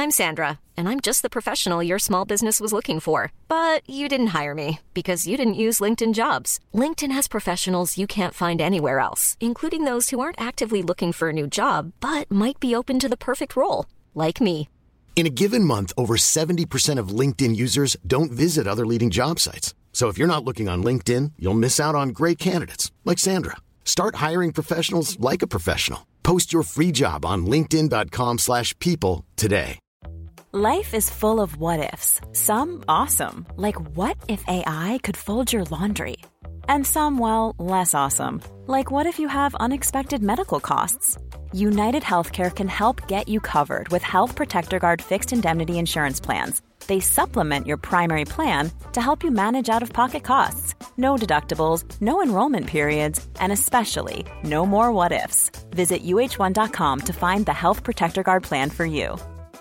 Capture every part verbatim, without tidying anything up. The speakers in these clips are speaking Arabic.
I'm Sandra, and I'm just the professional your small business was looking for. But you didn't hire me because you didn't use LinkedIn Jobs. LinkedIn has professionals you can't find anywhere else, including those who aren't actively looking for a new job, but might be open to the perfect role, like me. In a given month, over seventy percent of LinkedIn users don't visit other leading job sites. So if you're not looking on LinkedIn, you'll miss out on great candidates like Sandra. Start hiring professionals like a professional. Post your free job on linkedin dot com slash people today. Life is full of what-ifs. Some awesome, like what if A I could fold your laundry? And some, well, less awesome, like what if you have unexpected medical costs? United Healthcare can help get you covered with Health Protector Guard fixed indemnity insurance plans. They supplement your primary plan to help you manage out-of-pocket costs. No deductibles, no enrollment periods, and especially no more what-ifs. Visit U H one dot com to find the Health Protector Guard plan for you.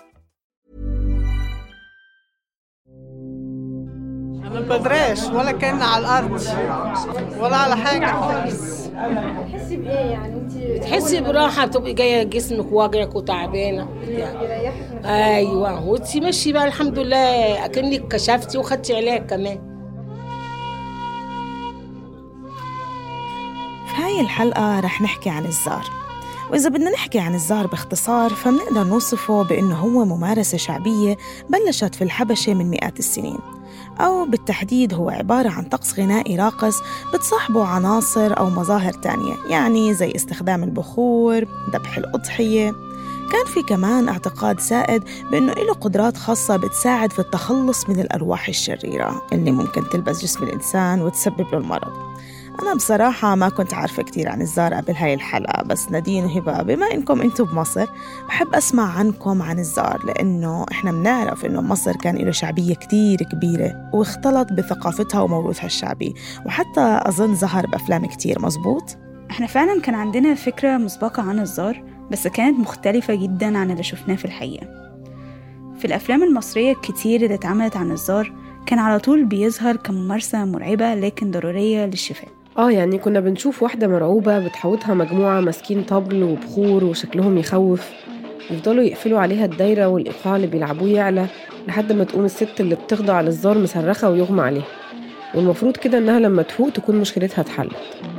ما بدريش ولا كنا على الأرض ولا على حاجة. تحسي بإيه يعني أنت؟ تحسي براحة، بتبقي جاية جسمك واجعك وتعبانة. أيوة، وأنت ماشي بقى الحمد لله أكنك كشفتي وخدتي علاج كمان. في هاي الحلقة رح نحكي عن الزار، وإذا بدنا نحكي عن الزار باختصار فمنقدر نوصفه بأنه هو ممارسة شعبية بلشت في الحبشة من مئات السنين، أو بالتحديد هو عبارة عن طقس غنائي راقص بتصاحبه عناصر أو مظاهر تانية، يعني زي استخدام البخور، ذبح الأضحية. كان في كمان اعتقاد سائد بأنه له قدرات خاصة بتساعد في التخلص من الأرواح الشريرة اللي ممكن تلبس جسم الإنسان وتسبب له المرض. أنا بصراحة ما كنت عارفة كتير عن الزار قبل هاي الحلقة، بس نادين وهبة بما إنكم أنتم بمصر بحب أسمع عنكم عن الزار، لأنه إحنا بنعرف إنه مصر كان له شعبية كتير كبيرة واختلط بثقافتها وموروثها الشعبي، وحتى أظن ظهر بأفلام كتير. مزبوط؟ إحنا فعلاً كان عندنا فكرة مسبقة عن الزار، بس كانت مختلفة جداً عن اللي شفناه في الحقيقة. في الأفلام المصرية الكتير اللي اتعملت عن الزار كان على طول بيظهر كممارسة مرعبة لكن ضرورية للشفاء. اه يعني كنا بنشوف واحدة مرعوبة بتحوطها مجموعة ماسكين طبل وبخور وشكلهم يخوف، يفضلوا يقفلوا عليها الدايرة والإيقاع اللي بيلعبوه يعلى لحد ما تقوم الست اللي بتخضع للزار مصرخة ويغمى عليها، والمفروض كده إنها لما تفوق تكون مشكلتها اتحلت.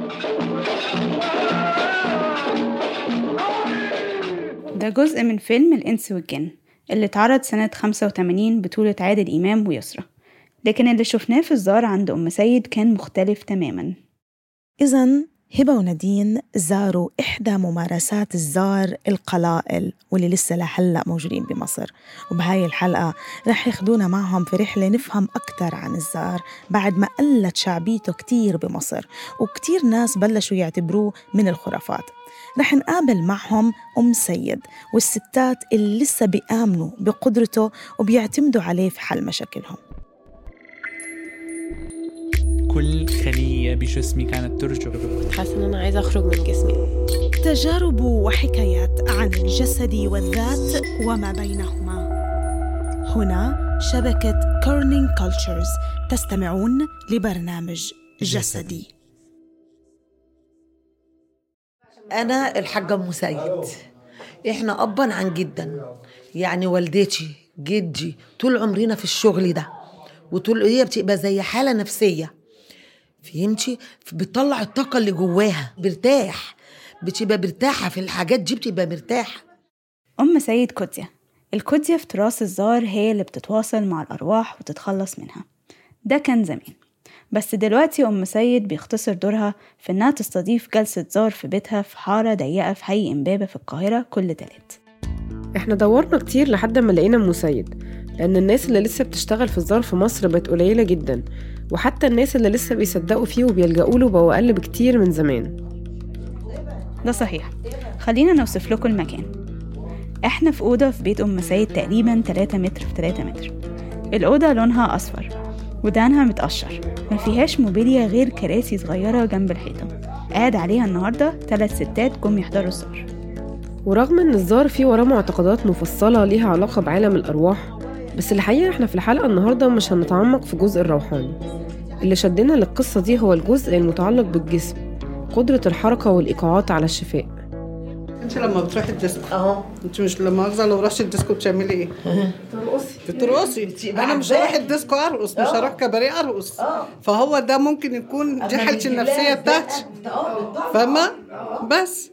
ده جزء من فيلم الإنس والجن اللي اتعرض سنة خمسة وثمانين بطولة عادل إمام ويسرى، لكن اللي شفناه في الزار عند أم سيد كان مختلف تماماً. إذن هبة ونادين زاروا إحدى ممارسات الزار القلائل واللي لسه لحلق موجودين بمصر، وبهاي الحلقة رح ياخدونا معهم في رحلة نفهم أكتر عن الزار بعد ما قلت شعبيته كتير بمصر وكتير ناس بلشوا يعتبروه من الخرافات. رح نقابل معهم أم سيد والستات اللي لسه بيآمنوا بقدرته وبيعتمدوا عليه في حل مشاكلهم. كل خلية بجسمي كانت ترجف، حاسة إن أنا عايزة أخرج من جسمي. تجارب وحكايات عن الجسد والذات وما بينهما. هنا شبكة كورنينج كولتشرز، تستمعون لبرنامج جسدي. أنا الحاجة أم سيد، إحنا أبا عن جدا، يعني والدتي جدي طول عمرنا في الشغل ده، وطول هي بتبقى زي حالة نفسية، فهمتي؟ بتطلع الطاقة اللي جواها، برتاح، بتبقى مرتاحة في الحاجات دي، بتبقى مرتاحة. أم سيد كوديا. الكوديا في تراث الزار هي اللي بتتواصل مع الأرواح وتتخلص منها. ده كان زمان، بس دلوقتي أم سيد بيختصر دورها في إنها تستضيف جلسة زار في بيتها في حارة ضيقة في حي إمبابة في القاهرة كل تلات. احنا دورنا كتير لحد ما لقينا أم سيد، لأن الناس اللي لسه بتشتغل في الزار في مصر بقت قليلة جدا، وحتى الناس اللي لسه بيصدقوا فيه وبيلجأوا له بقوا أقل بكتير من زمان. ده صحيح. خلينا نوصف لكم المكان. احنا في أوضة في بيت أم سيد تقريبا ثلاثة متر في ثلاثة متر. الأوضة لونها أصفر ودانها متقشر، ما فيهاش موبيليا غير كراسي صغيرة جنب الحيطة قاعد عليها النهاردة ثلاث ستات جم يحضروا الزار. ورغم ان الزار فيه وراه معتقدات مفصلة ليها علاقة بعالم الأرواح، بس الحقيقة احنا في الحلقة النهاردة مش هنتعمق في جزء الروحاني. اللي شدنا للقصة دي هو الجزء المتعلق بالجسم، قدرة الحركة والإيقاعات على الشفاء. انت لما بتروحي الديسكو اهو، انت مش لما اغزى لو رحتي الديسكو بتعملي ايه؟ ترقصي بترقصي. انا مش هروح الديسكو ارقص، مش هروح كباريه ارقص. فهو ده ممكن يكون دي حالتي النفسيه بتاعتي، فاهمه؟ بس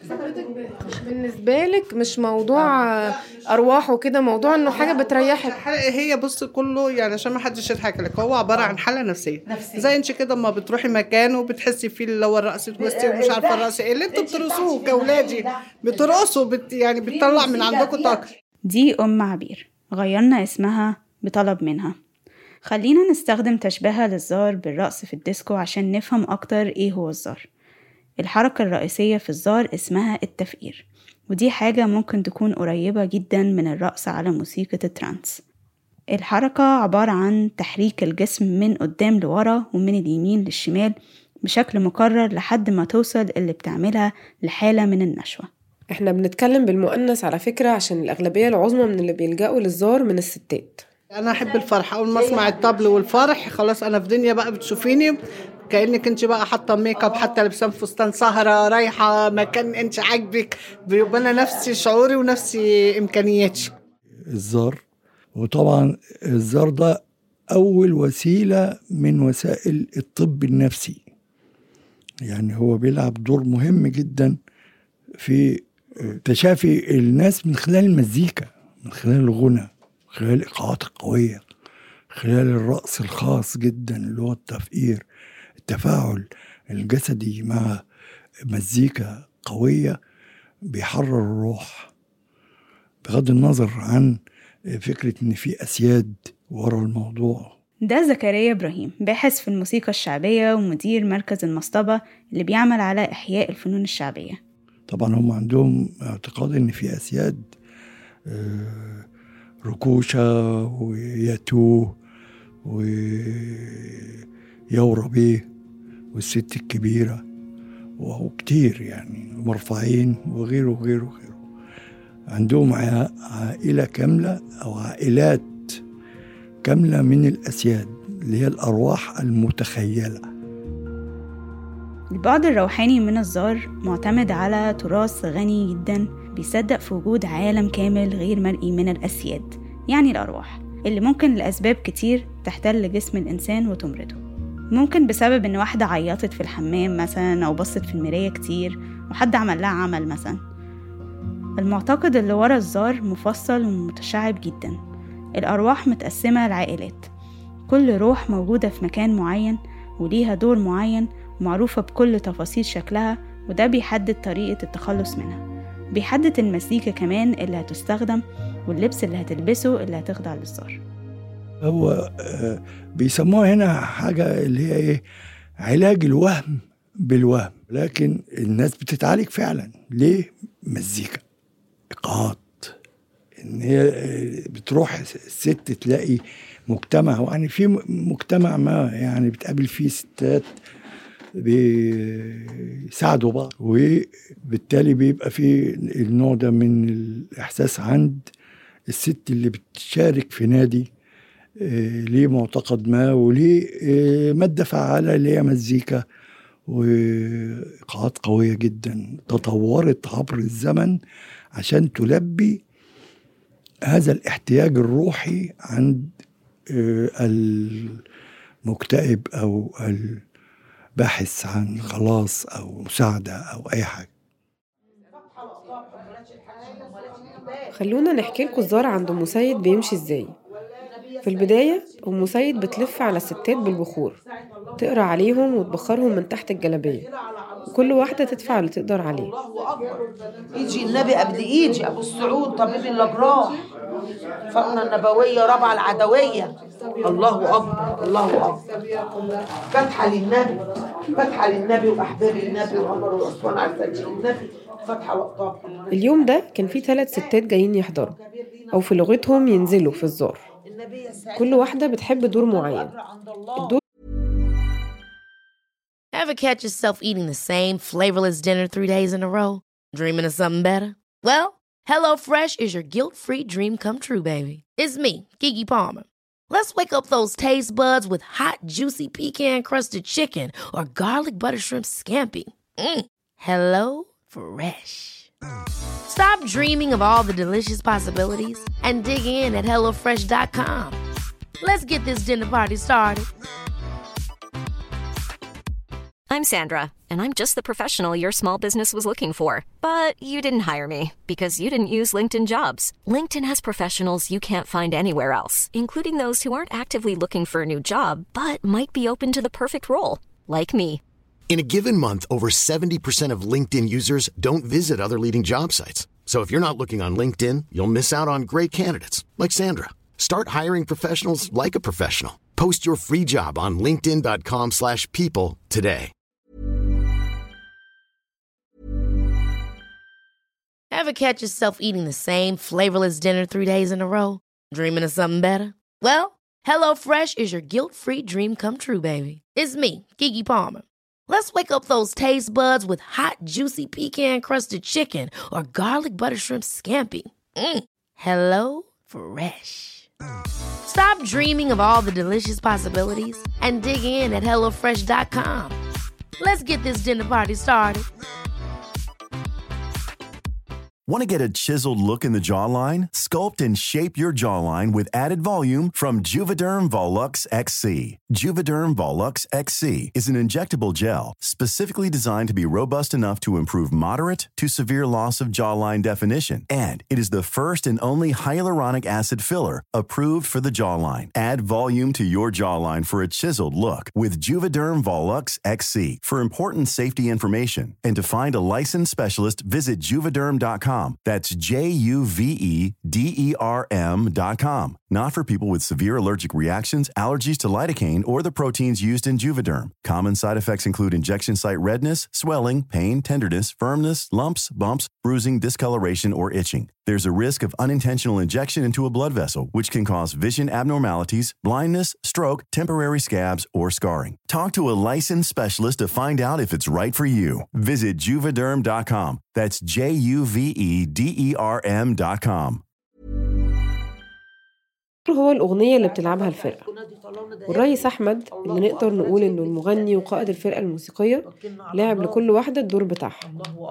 بالنسبه لك مش موضوع ارواح وكده، موضوع انه حاجه بتريحك. هي بص كله يعني عشان ما حدش يضحك لك، هو عباره عن حاله نفسيه, نفسية. زي انت كده ما بتروحي مكان وبتحسي فيه اللي هو الرقص توستي ومش عارفه الرقص ايه اللي انتوا بترقصوه كاولادي، بترقصوا بت يعني بتطلع من عندكم طاقه. دي ام عبير غيرنا اسمها بطلب منها. خلينا نستخدم تشبيهها للزار بالرقص في الديسكو عشان نفهم اكتر ايه هو الزار. الحركة الرئيسية في الزار اسمها التفقير، ودي حاجة ممكن تكون قريبة جدا من الرقص على موسيقى الترانس. الحركة عبارة عن تحريك الجسم من قدام لورا ومن اليمين للشمال بشكل مكرر لحد ما توصل اللي بتعملها لحالة من النشوة. احنا بنتكلم بالمؤنث على فكرة عشان الأغلبية العظمى من اللي بيلجأوا للزار من الستات. أنا أحب الفرح، أول ما أسمع الطبل والفرح خلاص أنا في دنيا بقى، بتشوفيني كأنك انت بقى حاطه ميك اب، حتى لابسه فستان سهره رايحه مكان انت عاجبك، بيبقى انا نفسي شعوري ونفسي امكانياتي. الزار، وطبعا الزار ده اول وسيله من وسائل الطب النفسي، يعني هو بيلعب دور مهم جدا في تشافي الناس من خلال المزيكا، من خلال الغنى، من خلال الايقاعات القويه، خلال الرقص الخاص جدا اللي هو التفقير، التفاعل الجسدي مع مزيكا قوية بيحرر الروح، بغض النظر عن فكرة ان في اسياد ورا الموضوع. ده زكريا إبراهيم، باحث في الموسيقى الشعبية ومدير مركز المصطبة اللي بيعمل على إحياء الفنون الشعبية. طبعا هم عندهم اعتقاد ان في اسياد، ركوشة وياتوه ويورا بيه والست الكبيرة وكتير يعني مرفعين وغيره وغيره وغيره. عندهم عائلة كاملة أو عائلات كاملة من الأسياد اللي هي الأرواح المتخيلة. البعد الروحاني من الزار معتمد على تراث غني جدا، بيصدق في وجود عالم كامل غير مرئي من الأسياد، يعني الأرواح اللي ممكن لأسباب كتير تحتل جسم الإنسان وتمرضه. ممكن بسبب إن واحدة عيطت في الحمام مثلا أو بصت في المراية كتير وحد عمل لها عمل مثلا. المعتقد اللي ورا الزار مفصل ومتشعب جدا. الأرواح متقسمة لعائلات، كل روح موجودة في مكان معين وليها دور معين ومعروفة بكل تفاصيل شكلها، وده بيحدد طريقة التخلص منها، بيحدد المزيكا كمان اللي هتستخدم واللبس اللي هتلبسه اللي هتخضع للزار. هو بيسموها هنا حاجة اللي هي ايه، علاج الوهم بالوهم، لكن الناس بتتعالج فعلا. ليه؟ مزيكا، إيقاعات، ان هي بتروح الست تلاقي مجتمع، يعني في مجتمع ما يعني بتقابل فيه ستات بيساعدوا بعض، وبالتالي بيبقى في النوع ده من الإحساس عند الست اللي بتشارك في نادي ليه معتقد ما وليه مادة فعالة اللي هي مزيكا وإيقاعات قوية جدا تطورت عبر الزمن عشان تلبي هذا الاحتياج الروحي عند المكتئب أو الباحث عن خلاص أو مساعدة أو أي حاجة. خلونا نحكي لكم الزار عند أم سيد بيمشي إزاي. في البداية أم سيد بتلف على الستات بالبخور، تقرأ عليهم وتبخرهم من تحت الجلابية، وكل واحدة تدفع اللي تقدر عليه. يجي النبي قبل يجي أبو السعود طبيب الأجراح، فاطمة النبوية رابعة العدوية. الله أكبر الله أكبر. فتحة للنبي، فتحة للنبي وأحباب النبي وعمر وعثمان على سبيل النبي، فتحة وقتها. اليوم ده كان في ثلاث ستات جايين يحضروا، أو في لغتهم ينزلوا في الزار. كل واحدة بتحب دور معين. الدور Ever catch yourself eating the same flavorless dinner three days in a row? Dreaming of something better? Well, HelloFresh is your guilt-free dream come true, baby. It's me, Keke Palmer. Let's wake up those taste buds with hot, juicy pecan-crusted chicken or garlic butter shrimp scampi. Mm. Hello Fresh. Stop dreaming of all the delicious possibilities and dig in at hello fresh dot com. Let's get this dinner party started. I'm Sandra, and I'm just the professional your small business was looking for. But you didn't hire me because you didn't use LinkedIn Jobs. LinkedIn has professionals you can't find anywhere else, including those who aren't actively looking for a new job, but might be open to the perfect role, like me. In a given month, over seventy percent of LinkedIn users don't visit other leading job sites. So if you're not looking on LinkedIn, you'll miss out on great candidates like Sandra. Start hiring professionals like a professional. Post your free job on linkedin dot com slash people today. Ever catch yourself eating the same flavorless dinner three days in a row? Dreaming of something better? Well, HelloFresh is your guilt-free dream come true, baby. It's me, Keke Palmer. Let's wake up those taste buds with hot, juicy pecan-crusted chicken or garlic butter shrimp scampi. Mm. Hello Fresh. Stop dreaming of all the delicious possibilities and dig in at hello fresh dot com. Let's get this dinner party started. Want to get a chiseled look in the jawline? Sculpt and shape your jawline with added volume from Juvederm Volux X C. Juvederm Volux X C is an injectable gel specifically designed to be robust enough to improve moderate to severe loss of jawline definition. And it is the first and only hyaluronic acid filler approved for the jawline. Add volume to your jawline for a chiseled look with Juvederm Volux X C. For important safety information and to find a licensed specialist, visit juvederm dot com. That's J U V E D E R M dot com. Not for people with severe allergic reactions, allergies to lidocaine, or the proteins used in Juvederm. Common side effects include injection site redness, swelling, pain, tenderness, firmness, lumps, bumps, bruising, discoloration, or itching. There's a risk of unintentional injection into a blood vessel, which can cause vision abnormalities, blindness, stroke, temporary scabs, or scarring. Talk to a licensed specialist to find out if it's right for you. Visit juvederm dot com. That's J U V E D E R M dot com. هو الأغنية اللي بتلعبها الفرقة. والريس أحمد اللي نقدر نقول إنه المغني وقائد الفرقة الموسيقية لعب لكل واحدة الدور بتاعها.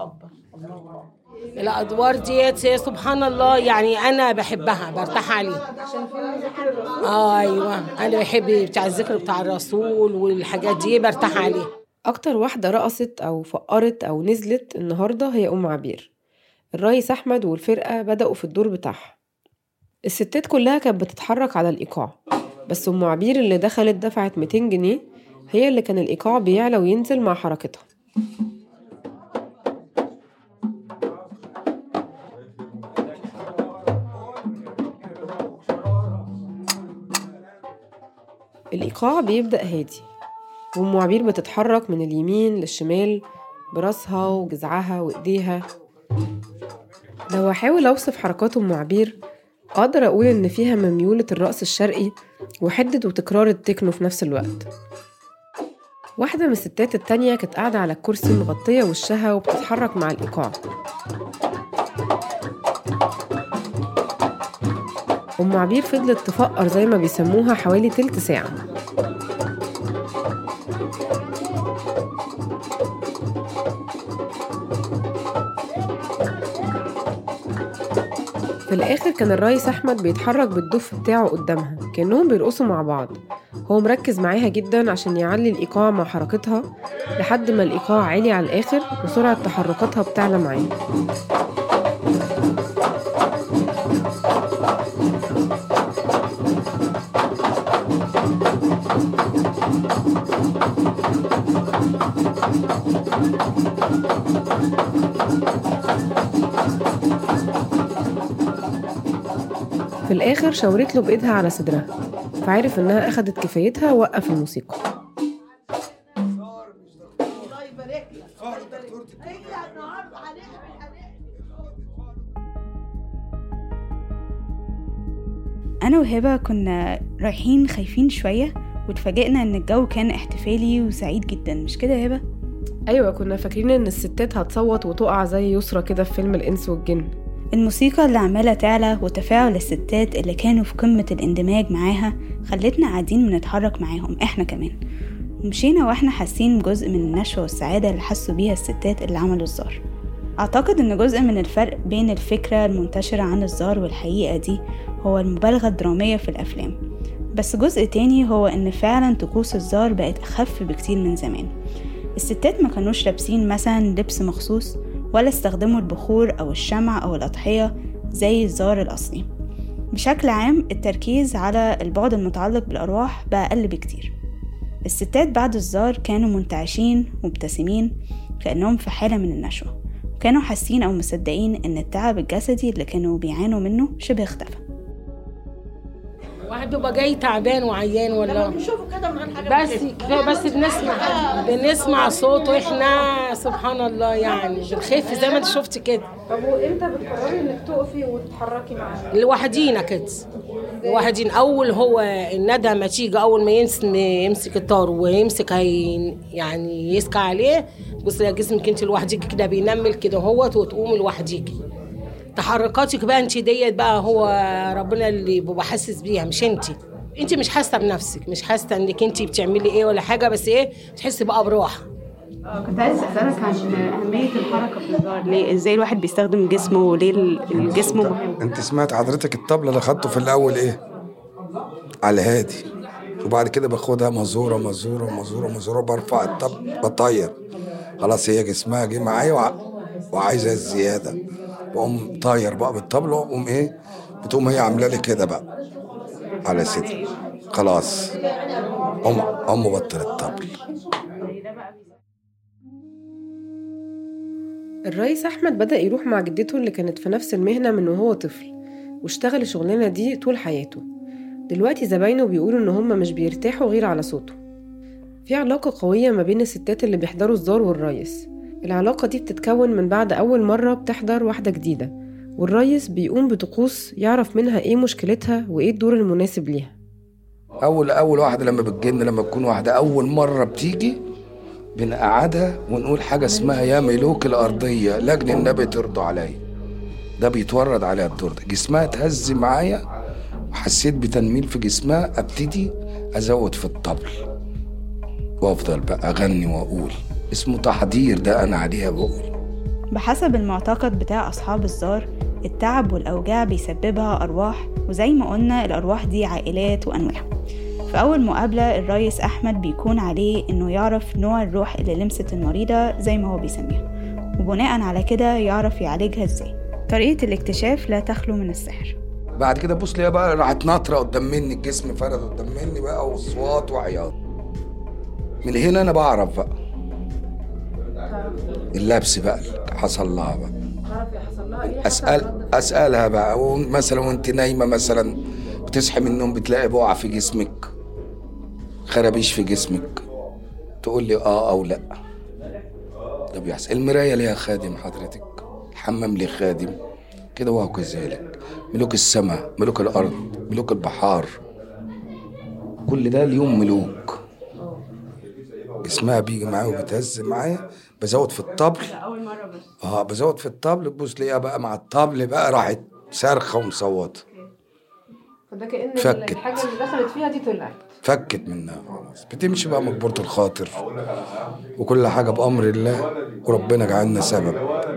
الأدوار ديت سبحان الله يعني أنا بحبها برتاح عليها. آه أيوة أنا بحب بتاع الذكر بتاع الرسول والحاجات دي برتاح عليها. أكتر واحدة رقصت أو فقرت أو نزلت النهاردة هي أم عبير. الريس أحمد والفرقة بدأوا في الدور بتاعها. الستات كلها كانت بتتحرك على الإيقاع، بس أم عبير اللي دخلت دفعت مئتين جنيه هي اللي كان الإيقاع بيعلى وينزل مع حركتها. الإيقاع بيبدأ هادي وأم عبير بتتحرك من اليمين للشمال براسها وجذعها وإيديها. لو أحاول أوصف حركات أم عبير أقدر أقول إن فيها من ميولة الرقص الشرقي وحدة وتكرار التكنو في نفس الوقت. واحدة من الستات التانية كانت قاعدة على الكرسي مغطية وشها وبتتحرك مع الإيقاع. أم عبير فضلت تفقر زي ما بيسموها حوالي تلت ساعة. في الآخر كان الريس أحمد بيتحرك بالدف بتاعه قدامها كأنهم بيرقصوا مع بعض. هو مركز معاها جدا عشان يعلي الإيقاع مع حركتها لحد ما الإيقاع عالي على الآخر وسرعة تحركاتها بتعلى معاه. في الآخر شاورت له بإيدها على صدرها، فعرف إنها أخدت كفايتها ووقف الموسيقى. أنا وهبة كنا رايحين خايفين شوية واتفاجئنا إن الجو كان احتفالي وسعيد جدا، مش كده يا هبة؟ أيوة، كنا فاكرين إن الستات هتصوت وتقع زي يسرى كده في فيلم الإنس والجن. الموسيقى اللي عمالة تعلى وتفاعل الستات اللي كانوا في قمة الاندماج معاها خلتنا قاعدين بنتحرك معاهم احنا كمان، ومشينا واحنا حاسين بجزء من النشوة والسعادة اللي حسوا بيها الستات اللي عملوا الزار. أعتقد إن جزء من الفرق بين الفكرة المنتشرة عن الزار والحقيقة دي هو المبالغة الدرامية في الأفلام، بس جزء تاني هو إن فعلا طقوس الزار بقت أخف بكتير من زمان. الستات ما كانوش لابسين مثلا لبس مخصوص ولا استخدموا البخور أو الشمع أو الأضحية زي الزار الأصلي. بشكل عام التركيز على البعد المتعلق بالأرواح بقى أقل بكتير. الستات بعد الزار كانوا منتعشين مبتسمين كأنهم في حالة من النشوة، وكانوا حاسين أو مصدقين إن التعب الجسدي اللي كانوا بيعانوا منه شبه اختفى. واحد بيبقى جاي تعبان وعيان ولا بس بس بنسمع بنسمع صوته احنا سبحان الله يعني بنخف زي ما انت شفت كده. طب وامتى بتقرري انك تقفي وتتحركي معاه؟ لوحدينا كده لوحدين. اول هو الندى ما تيجي اول ما يمسك الطار ويمسك هي يعني يسكى عليه، بص يا جسمك انت لوحديك كده بينمل كده هوت وتقوم لوحديك. تحركاتك بقى انت ديت بقى هو ربنا اللي بيبقى حاسس بيها، مش انت انت مش حاسه بنفسك، مش حاسه انك انت بتعملي ايه ولا حاجه، بس ايه تحسي بقى براحه. كنت عايز اسالك عن اهميه الحركه في الزار، ليه ازاي الواحد بيستخدم جسمه وليه الجسم مهم؟ انت سمعت حضرتك الطبله اللي خدته في الاول ايه على الهادي، وبعد كده باخدها مزوره مزوره مزوره مزوره برفع الطبل بطير، خلاص هي جسمها جه معايا وع... وعايزه الزياده، بقوم طاير بقى بالطبله وقوم ايه بتقوم هي عامله لي كده بقى على صدري، خلاص ام ام بطل الطبل. الرئيس أحمد بدأ يروح مع جدته اللي كانت في نفس المهنة من وهو طفل، واشتغل الشغلانة دي طول حياته. دلوقتي زباينه بيقولوا إن هم مش بيرتاحوا غير على صوته. في علاقة قوية ما بين الستات اللي بيحضروا الزار والرئيس. العلاقة دي بتتكون من بعد أول مرة بتحضر واحدة جديدة، والرئيس بيقوم بطقوس يعرف منها إيه مشكلتها وإيه الدور المناسب ليها. أول أول واحدة لما بتجن لما تكون واحدة أول مرة بتيجي بنقعدها ونقول حاجة اسمها يا ملوك الأرضية لجن النبي ترضوا عليا. ده بيتورد عليها الدور ده، جسمها تهز معايا وحسيت بتنميل في جسمها، أبتدي أزود في الطبل وأفضل بقى أغني وأقول، اسمه تحضير ده أنا عليها بقول. بحسب المعتقد بتاع أصحاب الزار التعب والأوجاع بيسببها أرواح، وزي ما قلنا الأرواح دي عائلات وأنواع. في أول مقابلة الرئيس أحمد بيكون عليه إنه يعرف نوع الروح اللي لمست المريضة زي ما هو بيسميها، وبناء على كده يعرف يعالجها إزاي. طريقة الاكتشاف لا تخلو من السحر. بعد كده بص ليها بقى راحت ناطرة قدام مني، الجسم فرد قدام مني بقى وصوات وعياط. من هنا أنا بعرف بقى اللبس بقى حصل لها بقى. أسأل أسألها بقى مثلا وانت نايمة مثلا بتصحي من النوم بتلاقي بقعة في جسمك، خرابيش في جسمك، تقول لي اه او لا. ده بيحصل. المراية ليها خادم حضرتك، الحمام ليه خادم كده، وهو كذلك ملوك السماء ملوك الأرض ملوك البحار، كل ده اليوم ملوك. جسمها بيجي معايا وبتهز معايا، بزود في الطبل اه بزود في الطبل، تبص ليها بقى مع الطبل بقى راحت صارخة ومصوتة. فده كأن فكت. الحاجة اللي دخلت فيها دي طلعت فكت منها خلاص، بتمشي بقى مجبورة الخاطر، وكل حاجة بأمر الله وربنا جعلنا سبب.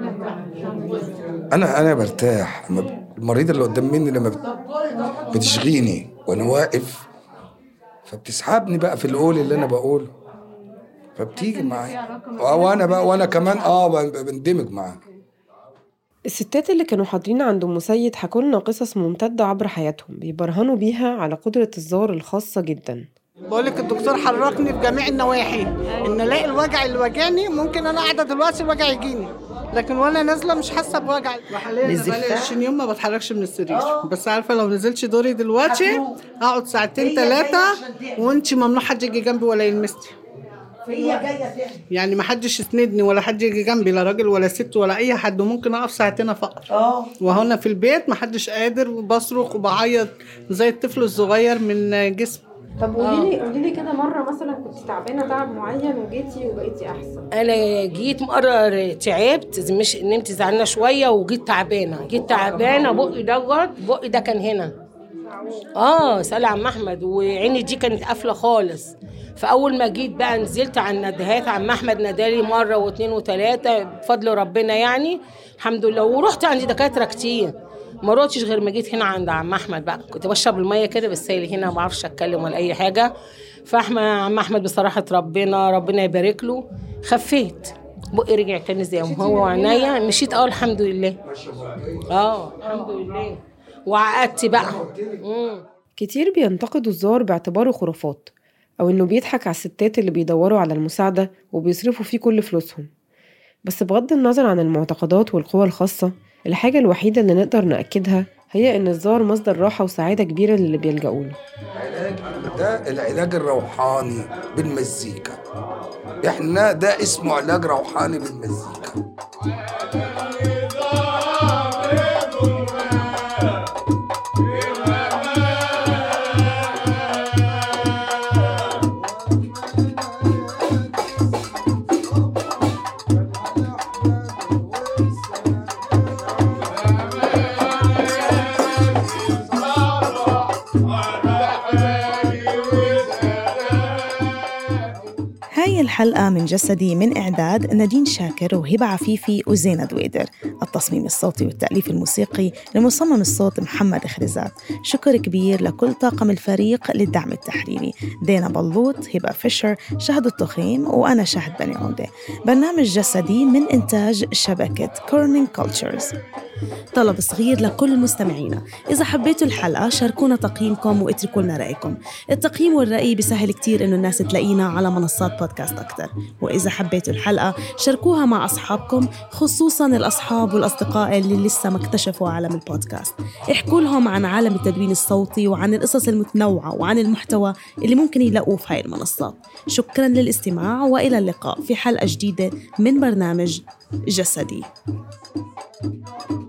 أنا أنا برتاح. المريض اللي قدام مني لما بتشغيني وأنا واقف فبتسحبني بقى في القول اللي أنا بقوله، فبتيجي معايا وأنا بقى وأنا كمان آه بندمج معاها. الستات اللي كانوا حاضرين عند أم سيد حكوا لنا قصص ممتدة عبر حياتهم بيبرهنوا بيها على قدرة الزار الخاصة جدا. بقولك الدكتور حركني في جميع النواحي، ان الاقي الوجع اللي واجعني، ممكن انا قاعده دلوقتي الوجع يجيني، لكن وانا نازله مش حاسه بوجع. وحاليا بقالي عشرين يوم ما بتحركش من السرير، بس عارفه لو نزلتش دوري دلوقتي اقعد ساعتين ثلاثه وانتي ممنوع حد يجي جنبي ولا يلمسني. يعني ما حدش يسندني ولا حد يجي جنبي، لا راجل ولا ست ولا اي حد، وممكن اقف ساعتين فقط. اه وهنا في البيت ما حدش قادر، وبصرخ وبعيط زي الطفل الصغير من جسم. طب قولي لي قولي لي كده مره مثلا كنت تعبانه تعب معين وجيتي وبقيتي احسن؟ انا جيت مره تعبت، مش نمت زعلانه شويه وجيت تعبانه، جيت تعبانه بقي دوت بقي ده كان هنا اه سأل عم احمد، وعيني دي كانت قافله خالص. فاول ما جيت بقى نزلت على الندهات، عم احمد نادالي مره واثنين وثلاثه بفضل ربنا يعني الحمد لله. ورحت عند دكاتره كتير، ما روحتش غير ما جيت هنا عند عم احمد بقى. كنت بشرب الميه كده بالسائل هنا، ما بعرفش اتكلم ولا اي حاجه. فاحمد عم احمد بصراحه ربنا ربنا يبارك له خفيت، بقي رجع تاني زي ما هو، وعينيا مشيت. اه الحمد لله. اه الحمد لله. وعقدت بقى. مم. كتير بينتقدوا الزار باعتباره خرافات، أو إنه بيضحك على الستات اللي بيدوروا على المساعدة وبيصرفوا فيه كل فلوسهم. بس بغض النظر عن المعتقدات والقوى الخاصة، الحاجة الوحيدة اللي نقدر نأكدها هي إن الزار مصدر راحة وسعادة كبيرة للي بيلجأوا له. ده العلاج الروحاني بالمزيكا، إحنا ده اسمه علاج روحاني بالمزيكا. هاي الحلقة من جسدي من إعداد نادين شاكر وهبة عفيفي وزينة دويدر، التصميم الصوتي والتأليف الموسيقي لمصمم الصوت محمد خريزات. شكر كبير لكل طاقم الفريق للدعم التحريري، دينا بلوط، هبة فيشر، شهد التخيم، وأنا شهد بني عودة. برنامج جسدي من إنتاج شبكة كورنينج كولتشرز. طلب صغير لكل مستمعينا، إذا حبيتوا الحلقة شاركونا تقييمكم واتركوا لنا رأيكم. التقييم والرأي بيسهل كتير إنه الناس تلاقينا على منصات بودكاست أكتر. وإذا حبيتوا الحلقة شاركوها مع أصحابكم، خصوصاً الأصحاب والأصدقاء اللي لسه ما اكتشفوا عالم البودكاست. احكوا لهم عن عالم التدوين الصوتي وعن القصص المتنوعة وعن المحتوى اللي ممكن يلاقوه في هاي المنصات. شكراً للاستماع، وإلى اللقاء في حلقة جديدة من برنامج جسدي.